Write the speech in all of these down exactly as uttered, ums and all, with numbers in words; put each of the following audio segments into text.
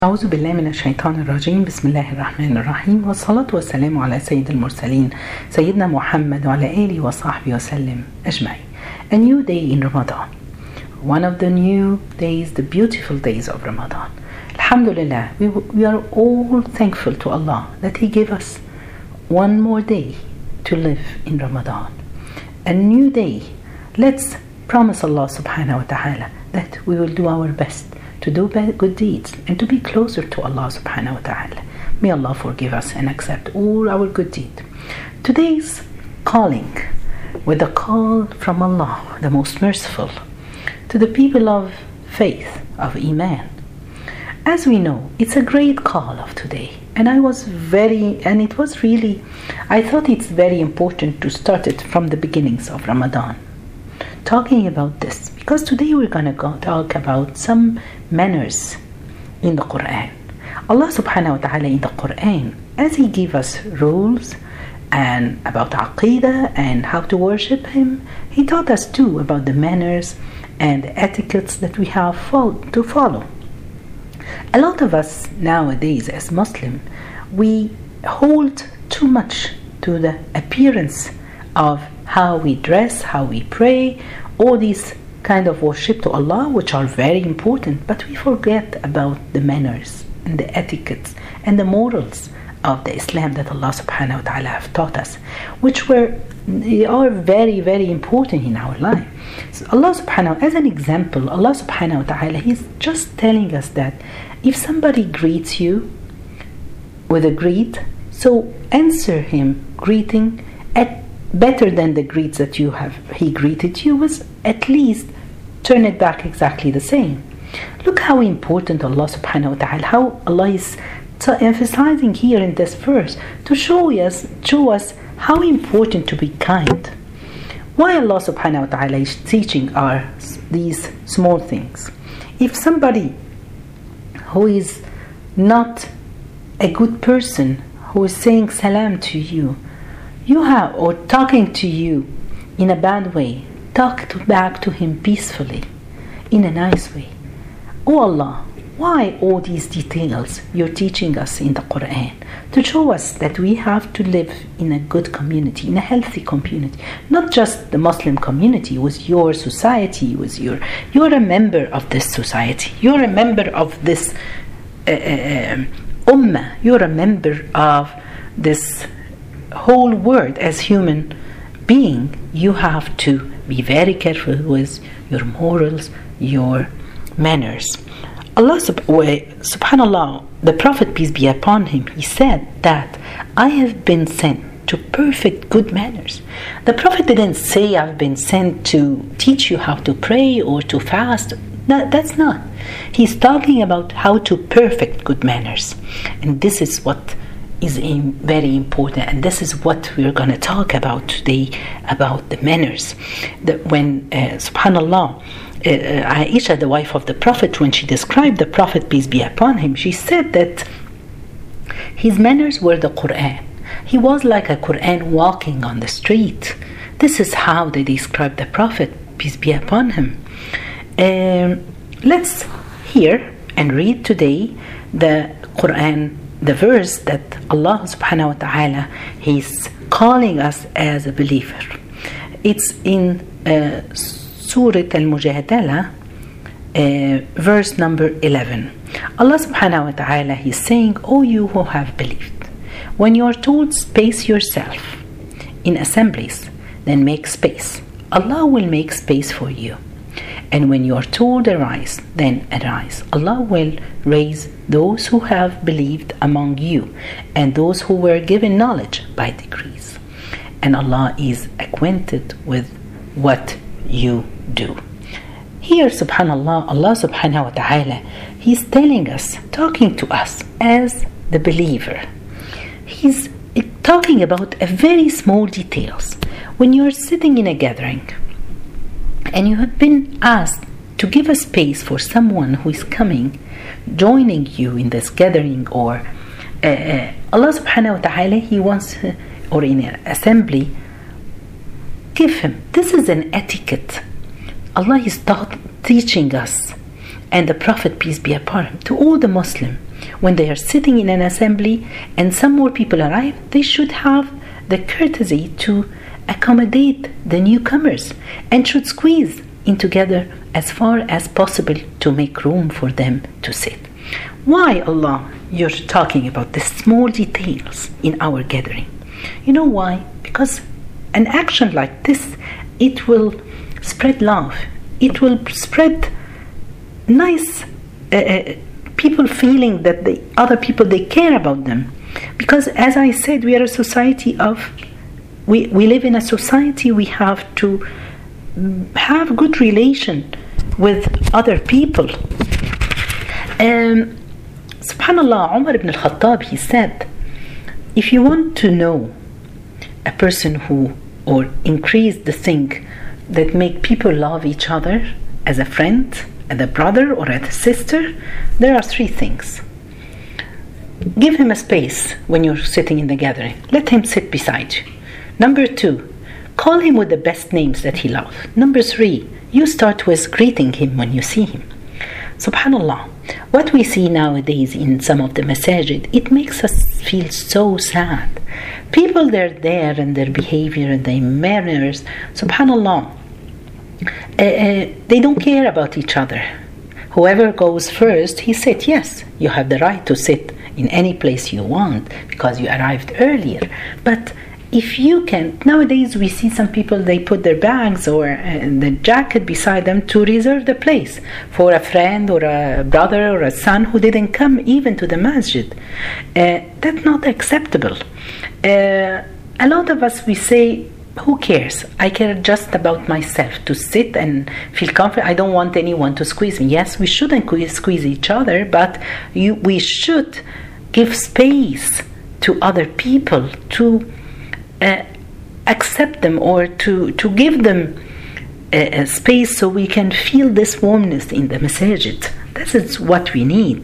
أعوذ بالله من الشيطان الرجيم. بسم الله الرحمن الرحيم، والصلاة والسلام على سيد المرسلين سيدنا محمد وعلى آله وصحبه وسلم أجمعين. A new day in Ramadan, one of the new days, the beautiful days of Ramadan. Alhamdulillah, we, we are all thankful to Allah that He gave us one more day to live in Ramadan. A new day. Let's promise Allah subhanahu wa ta'ala that we will do our best to do good deeds and to be closer to Allah subhanahu wa ta'ala. May Allah forgive us and accept all our good deeds. Today's calling, with a call from Allah, the most merciful, to the people of faith, of Iman. As we know, it's a great call of today, and I was very, and it was really, I thought it's very important to start it from the beginnings of Ramadan, talking about this, because today we're going to go talk about some manners in the Quran. Allah subhanahu wa ta'ala in the Quran, as He gave us rules and about Aqidah and how to worship Him, He taught us too about the manners and the etiquettes that we have to follow. A lot of us nowadays as Muslim, we hold too much to the appearance of how we dress, how we pray, all these kind of worship to Allah, which are very important, but we forget about the manners and the etiquettes and the morals of the Islam that Allah subhanahu wa ta'ala have taught us, which were they are very, very important in our life. So Allah subhanahu, as an example, Allah subhanahu wa ta'ala, He's just telling us that if somebody greets you with a greet, so answer him greeting at better than the greets that you have he greeted you with, at least turn it back exactly the same. Look how important Allah subhanahu wa ta'ala, how Allah is t- emphasizing here in this verse to show us show us how important to be kind. Why Allah subhanahu wa ta'ala is teaching us these small things. If somebody who is not a good person, who is saying salam to you, you have, or talking to you in a bad way, talk to back to him peacefully, in a nice way. Oh Allah, why all these details you're teaching us in the Quran? To show us that we have to live in a good community, in a healthy community, not just the Muslim community, with your society, with your, you're a member of this society, you're a member of this uh, uh, ummah, you're a member of this whole world. As human being, you have to be very careful with your morals, your manners. Allah subhanallah, the Prophet, peace be upon him, he said that I have been sent to perfect good manners. The Prophet didn't say I've been sent to teach you how to pray or to fast. No, that's not. He's talking about how to perfect good manners, and this is what is very important, and this is what we're going to talk about today, about the manners. That when uh, subhanallah, uh, Aisha, the wife of the Prophet, when she described the Prophet, peace be upon him, she said that his manners were the Quran. He was like a Quran walking on the street. This is how they described the Prophet, peace be upon him. Um, let's hear and read today the Quran, the verse that Allah subhanahu wa ta'ala He's calling us as a believer. It's in uh, Surah Al-Mujadala, uh, verse number eleven. Allah subhanahu wa ta'ala He's saying, O you who have believed, when you are told space yourself in assemblies, then make space. Allah will make space for you. And when you are told arise, then arise. Allah will raise those who have believed among you and those who were given knowledge by degrees. And Allah is acquainted with what you do. Here, subhanallah, Allah subhanahu wa ta'ala, He's telling us, talking to us as the believer. He's talking about a very small details. When you're sitting in a gathering, and you have been asked to give a space for someone who is coming, joining you in this gathering, or uh, uh, Allah subhanahu wa ta'ala, He wants, uh, or in an assembly, give him. This is an etiquette. Allah is taught, teaching us, and the Prophet, peace be upon him, to all the Muslim, when they are sitting in an assembly and some more people arrive, they should have the courtesy to accommodate the newcomers and should squeeze in together as far as possible to make room for them to sit. Why, Allah, you're talking about the small details in our gathering? You know why? Because an action like this, it will spread love. It will spread nice uh, people feeling that the other people, they care about them. Because as I said, we are a society of, we, we live in a society, we have to have good relation with other people. Um, Subhanallah, Umar ibn al-Khattab, he said, if you want to know a person who, or increase the thing that make people love each other as a friend, as a brother or as a sister, there are three things. Give him a space when you're sitting in the gathering. Let him sit beside you. Number two, call him with the best names that he loves. Number three, you start with greeting him when you see him. Subhanallah, what we see nowadays in some of the masajid, it makes us feel so sad. People, they're there and their behavior and their manners, subhanallah, uh, uh, they don't care about each other. Whoever goes first, he said, yes, you have the right to sit in any place you want because you arrived earlier. But if you can, nowadays we see some people, they put their bags or uh, the jacket beside them to reserve the place for a friend or a brother or a son who didn't come even to the masjid. Uh, that's not acceptable. Uh, a lot of us, we say, who cares? I care just about myself, to sit and feel comfortable. I don't want anyone to squeeze me. Yes, we shouldn't squeeze each other, but you, we should give space to other people, to uh, accept them or to, to give them a, a space so we can feel this warmness in the masajid. This is what we need.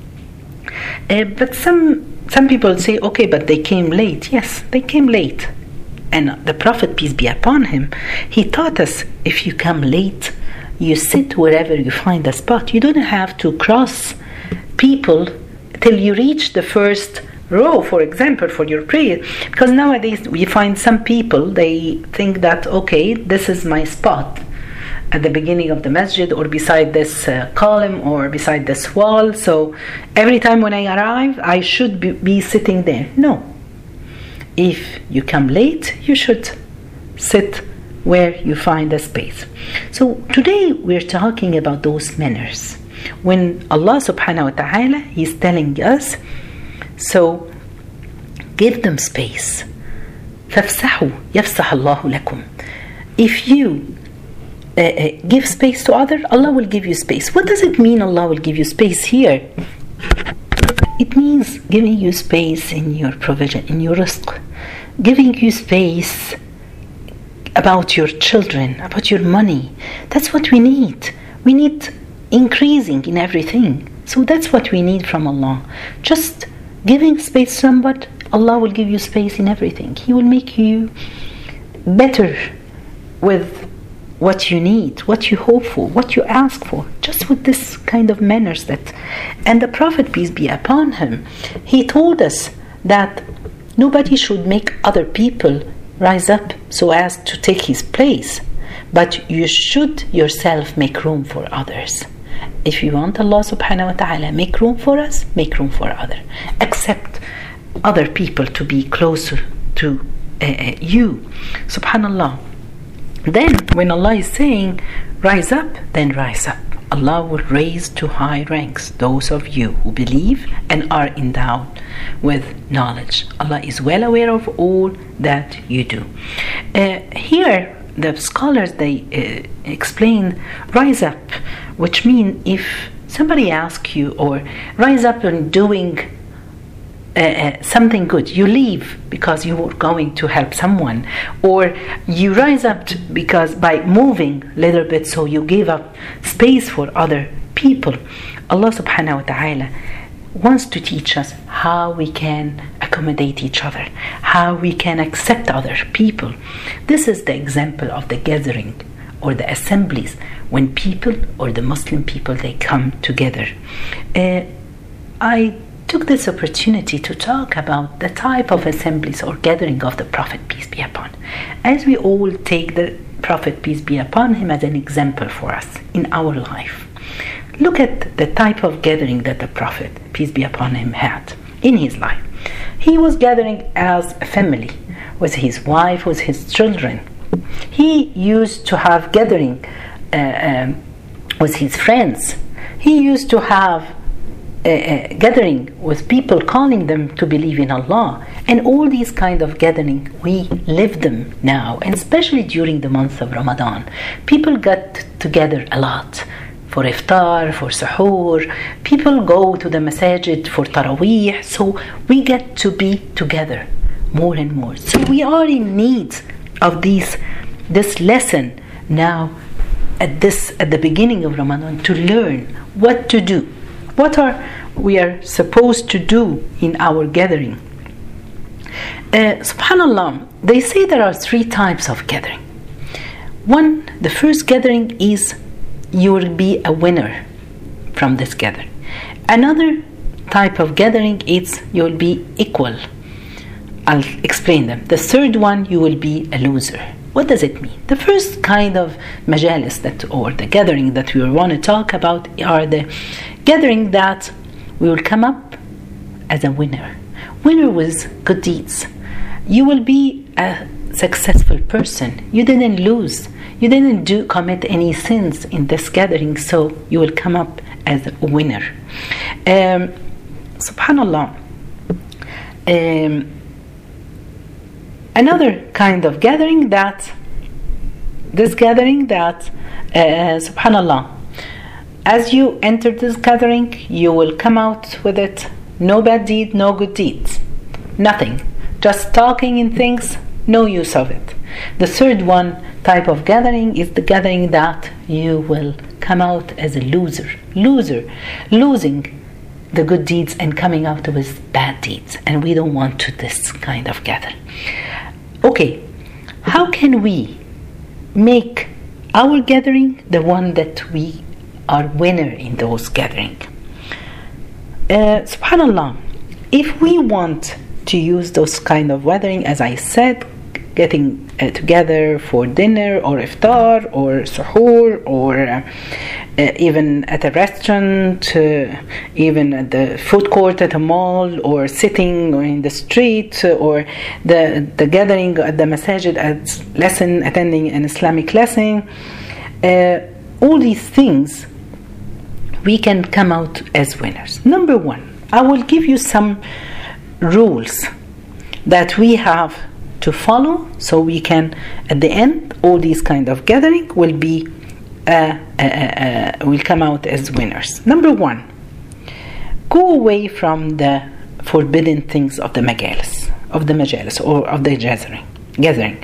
Uh, but some, some people say, okay, but they came late. Yes, they came late. And the Prophet, peace be upon him, he taught us, if you come late, you sit wherever you find a spot. You don't have to cross people till you reach the first row, for example, for your prayer. Because nowadays we find some people, they think that, okay, this is my spot at the beginning of the masjid or beside this uh, column or beside this wall. So every time when I arrive, I should be, be sitting there. No. If you come late, you should sit where you find a space. So today we're talking about those manners. When Allah subhanahu wa ta'ala is telling us, so give them space. فَافْسَحُوا يَفْسَحَ اللَّهُ لَكُمْ. If you uh, uh, give space to others, Allah will give you space. What does it mean Allah will give you space here? It means giving you space in your provision, in your rizq, giving you space about your children, about your money. That's what we need. We need increasing in everything. So that's what we need from Allah. Just giving space to somebody, Allah will give you space in everything. He will make you better with what you need, what you hope for, what you ask for, just with this kind of manners that. And the Prophet, peace be upon him, he told us that nobody should make other people rise up so as to take his place, but you should yourself make room for others. If you want Allah subhanahu wa ta'ala make room for us, make room for others. Accept other people to be closer to uh, you. Subhanallah. Then when Allah is saying rise up, then rise up. Allah will raise to high ranks those of you who believe and are endowed with knowledge. Allah is well aware of all that you do. Uh, here the scholars, they uh, explain rise up, which means if somebody asks you, or rise up and doing Uh, uh, something good, you leave because you were going to help someone, or you rise up to, because by moving a little bit, so you give up space for other people. Allah subhanahu wa ta'ala wants to teach us how we can accommodate each other, how we can accept other people. This is the example of the gathering or the assemblies when people or the Muslim people, they come together. Uh, I took this opportunity to talk about the type of assemblies or gathering of the Prophet, peace be upon him, as we all take the Prophet, peace be upon him, as an example for us in our life. Look at the type of gathering that the Prophet, peace be upon him, had in his life. He was gathering as a family, with his wife, with his children. He used to have gathering uh, um, with his friends. He used to have a, a gathering with people, calling them to believe in Allah. And all these kind of gathering, we live them now, and especially during the month of Ramadan. People get together a lot for iftar, for suhoor. People go to the masajid for taraweeh. So we get to be together more and more. So we are in need of these, this lesson now at this at the beginning of Ramadan, to learn what to do, what are we are supposed to do in our gathering. Uh, Subhanallah, they say there are three types of gathering. One, the first gathering is you will be a winner from this gathering. Another type of gathering is you will be equal. I'll explain them. The third one, you will be a loser. What does it mean? The first kind of majalis that, or the gathering that we want to talk about, are the gathering that we will come up as a winner. Winner with good deeds. You will be a successful person. You didn't lose. You didn't do commit any sins in this gathering, so you will come up as a winner. Um, Subhanallah. Um, Another kind of gathering that, this gathering that, uh, subhanallah, as you enter this gathering, you will come out with it, no bad deed, no good deeds, nothing, just talking in things, no use of it. The third one type of gathering is the gathering that you will come out as a loser, loser, losing the good deeds and coming out with bad deeds, and we don't want to this kind of gathering. Okay, how can we make our gathering the one that we are winner in those gathering? Uh, Subhanallah, if we want to use those kind of gathering, as I said, getting uh, together for dinner or iftar or suhoor or uh, uh, even at a restaurant, uh, even at the food court at a mall, or sitting or in the street, uh, or the the gathering at the masajid at lesson, attending an Islamic lesson, uh, all these things we can come out as winners. Number one, I will give you some rules that we have to follow, so we can, at the end, all these kind of gathering will be uh, uh, uh, will come out as winners. Number one, go away from the forbidden things of the majalis, of the majalis or of the gathering. Gathering.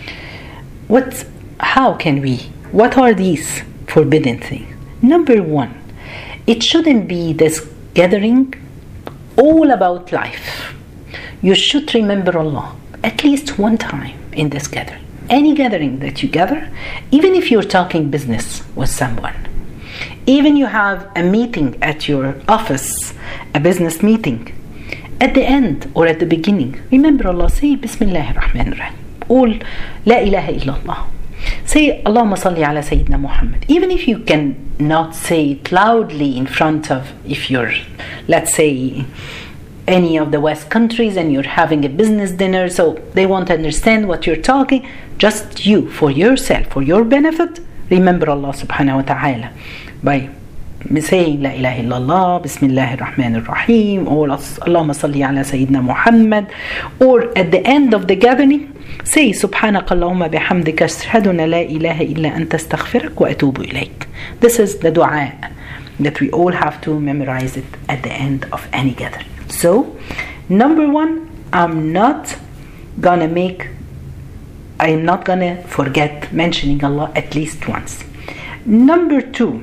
What? How can we? What are these forbidden things? Number one, it shouldn't be this gathering all about life. You should remember Allah at least one time in this gathering. Any gathering that you gather, even if you're talking business with someone, even you have a meeting at your office, a business meeting, at the end or at the beginning, remember Allah. Say Bismillahir Rahmanir Rahim. All La ilaha illallah. Say Allahumma salli ala Sayyidina Muhammad. Even if you can not say it loudly in front of, if you're, let's say, any of the West countries and you're having a business dinner, so they won't understand what you're talking, just you, for yourself, for your benefit, remember Allah subhanahu wa ta'ala by saying La ilaha illallah, Bismillahir Rahmanir Rahim, or Allahumma salli ala Sayyidina Muhammad, or at the end of the gathering, say Subhanaka Allahumma bihamdika ashhadu an la ilaha illa anta astaghfiruka wa atubu ilayk. This is the dua that we all have to memorize it at the end of any gathering. So, number one, I'm not gonna make, I'm not gonna forget mentioning Allah at least once. Number two,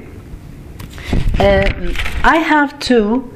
uh, I have to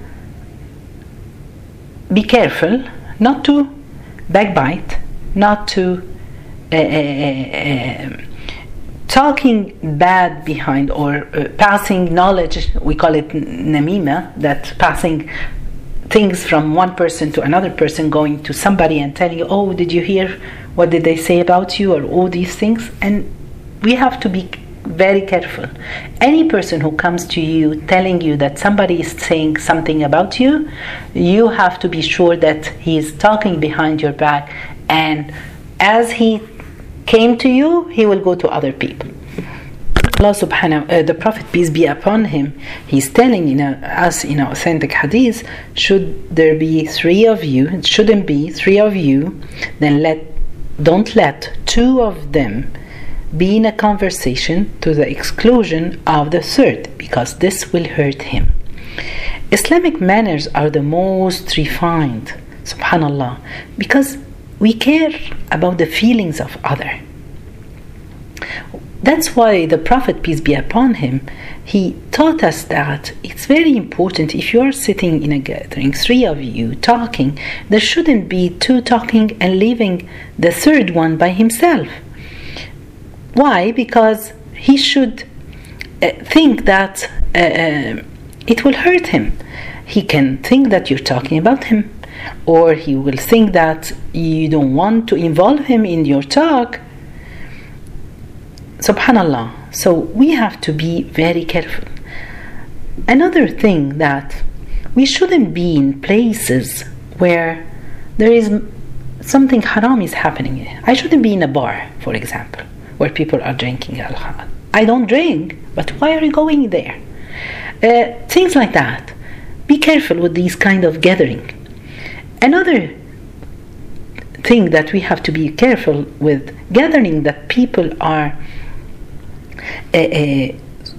be careful not to backbite, not to uh, uh, uh, talking bad behind, or uh, passing knowledge. We call it namima, that passing things from one person to another person, going to somebody and telling you, oh, did you hear what did they say about you, or all these things. And we have to be very careful. Any person who comes to you telling you that somebody is saying something about you, you have to be sure that he is talking behind your back, and as he came to you, he will go to other people. Allah subhanahu uh, the Prophet, peace be upon him, he's telling in a, us in an authentic hadith, should there be three of you, it shouldn't be three of you, then let don't let two of them be in a conversation to the exclusion of the third, because this will hurt him. Islamic manners are the most refined, subhanallah, because we care about the feelings of other. That's why the Prophet, peace be upon him, he taught us that it's very important, if you are sitting in a gathering, three of you talking, there shouldn't be two talking and leaving the third one by himself. Why? Because he should uh, think that uh, uh, it will hurt him. He can think that you're talking about him, or he will think that you don't want to involve him in your talk. Subhanallah. So we have to be very careful. Another thing, that we shouldn't be in places where there is something haram is happening. I shouldn't be in a bar, for example, where people are drinking alcohol. I don't drink, but why are you going there? Uh, things like that. Be careful with these kind of gathering. Another thing that we have to be careful with, gathering that people are uh, uh,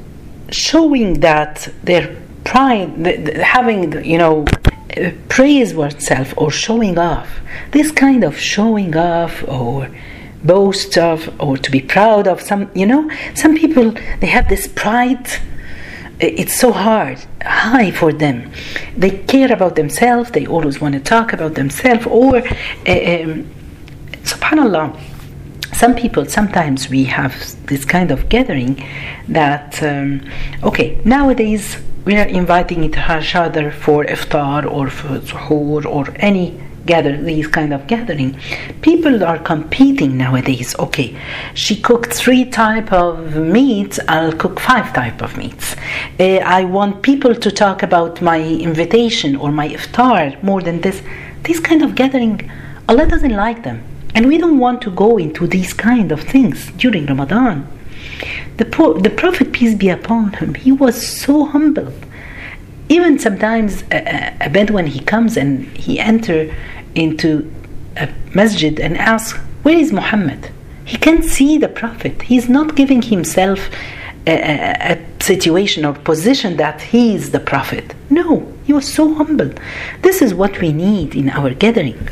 showing that their pride, the, the, having, you know, uh, praise oneself or showing off. This kind of showing off or boast of, or to be proud of, some, you know, some people, they have this pride. It's so hard, high for them. They care about themselves. They always want to talk about themselves. Or, uh, um, subhanallah, some people, sometimes we have this kind of gathering that, um, okay, nowadays we are inviting each other for iftar or for suhoor or any gather, these kind of gathering. People are competing nowadays. Okay, she cooked three type of meats, I'll cook five type of meats. uh, I want people to talk about my invitation or my iftar more than this. This kind of gathering, Allah doesn't like them, and we don't want to go into these kind of things during Ramadan. The, pro- the Prophet, peace be upon him, he was so humble. Even sometimes a, a Bedouin, he comes and he enter into a masjid and asks, where is Muhammad? He can't see the Prophet. He's not giving himself a, a, a situation or position that he is the Prophet. No, he was so humble. This is what we need in our gathering.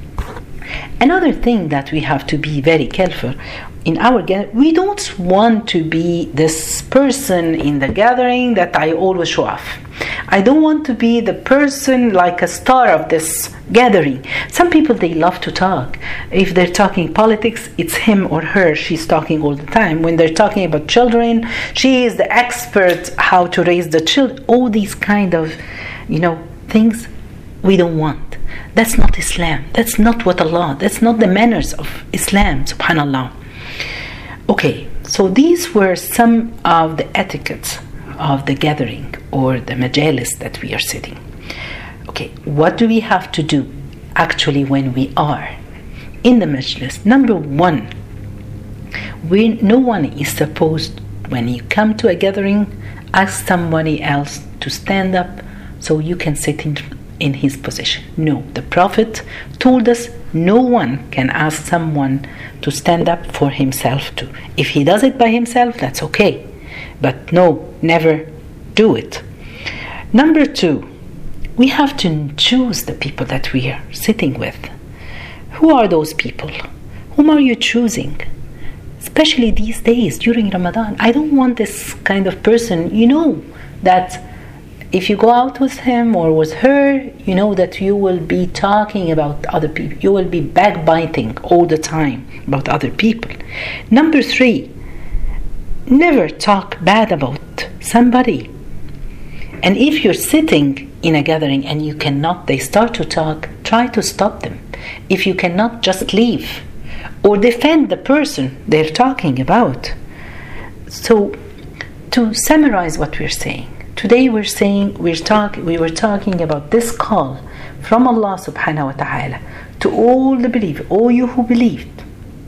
Another thing that we have to be very careful in our gathering, we don't want to be this person in the gathering that I always show off. I don't want to be the person like a star of this gathering. Some people, they love to talk. If they're talking politics, it's him or her. She's talking all the time. When they're talking about children, she is the expert how to raise the children. All these kind of, you know, things we don't want. That's not Islam. That's not what Allah, that's not the manners of Islam, subhanallah. Okay, so these were some of the etiquettes of the gathering or the majalis that we are sitting. Okay, what do we have to do actually when we are in the majlis? Number one, we, no one is supposed, when you come to a gathering, ask somebody else to stand up so you can sit in, in his position. No, the Prophet told us no one can ask someone to stand up for himself too. If he does it by himself, that's okay. But no, never do it. Number two, we have to choose the people that we are sitting with. Who are those people? Whom are you choosing? Especially these days during Ramadan. I don't want this kind of person, you know, that if you go out with him or with her, you know that you will be talking about other people. You will be backbiting all the time about other people. Number three, never talk bad about somebody. And if you're sitting in a gathering and you cannot, they start to talk, try to stop them. If you cannot, just leave or defend the person they're talking about. So to summarize what we're saying, today we're saying we're talk, we were talking about this call from Allah subhanahu wa ta'ala to all the believers, all you who believed.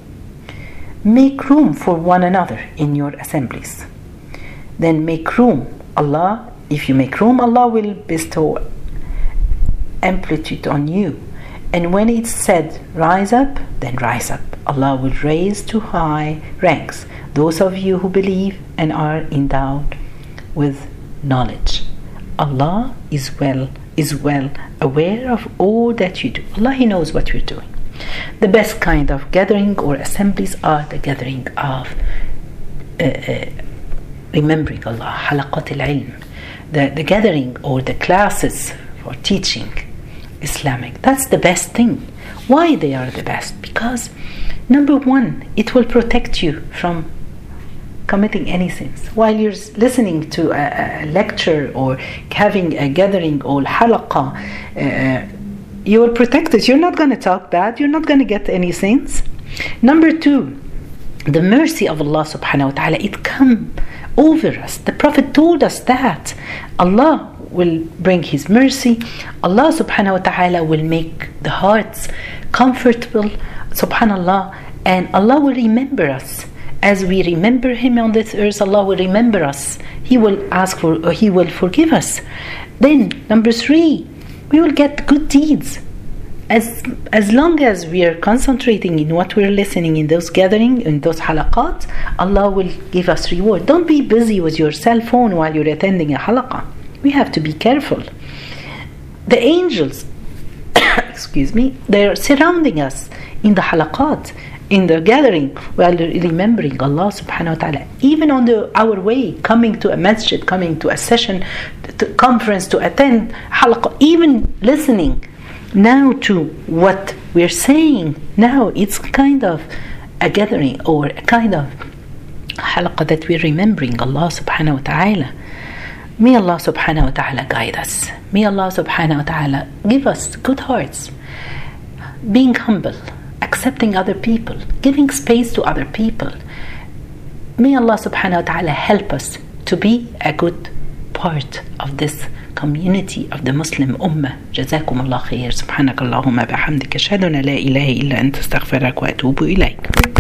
Make room for one another in your assemblies. Then make room. Allah, if you make room, Allah will bestow amplitude on you. And when it's said, rise up, then rise up. Allah will raise to high ranks those of you who believe and are endowed with knowledge. Allah is well, is well aware of all that you do. Allah, He knows what you're doing. The best kind of gathering or assemblies are the gathering of uh, uh, remembering Allah, halaqat al-ilm, the, the gathering or the classes for teaching Islamic. That's the best thing. Why they are the best? Because number one, it will protect you from committing any sins. While you're listening to a, a lecture or having a gathering or halaqah, uh, you will protect it. You're not going to talk bad. You're not going to get any sins. Number two, the mercy of Allah subhanahu wa ta'ala, it come over us. The Prophet told us that Allah will bring His mercy. Allah subhanahu wa ta'ala will make the hearts comfortable, subhanallah, and Allah will remember us. As we remember Him on this earth, Allah will remember us. He will ask for, or He will forgive us. Then, number three, we will get good deeds. As as long as we are concentrating in what we're listening in those gatherings, in those halaqat, Allah will give us reward. Don't be busy with your cell phone while you're attending a halaqah. We have to be careful. The angels, excuse me, they're surrounding us in the halaqat, in the gathering, while remembering Allah subhanahu wa ta'ala. Even on the, our way, coming to a masjid, coming to a session, to conference, to attend halaqah, even listening now to what we're saying now, it's kind of a gathering or a kind of halaqah that we're remembering Allah subhanahu wa ta'ala. May Allah subhanahu wa ta'ala guide us. May Allah subhanahu wa ta'ala give us good hearts, being humble, accepting other people, giving space to other people. May Allah subhanahu wa ta'ala help us to be a good part of this community of the Muslim Ummah. جزاكم الله خير. سبحانك اللهم بحمدك أشهد أن لا إله إلا أنت أستغفرك وأتوب إليك.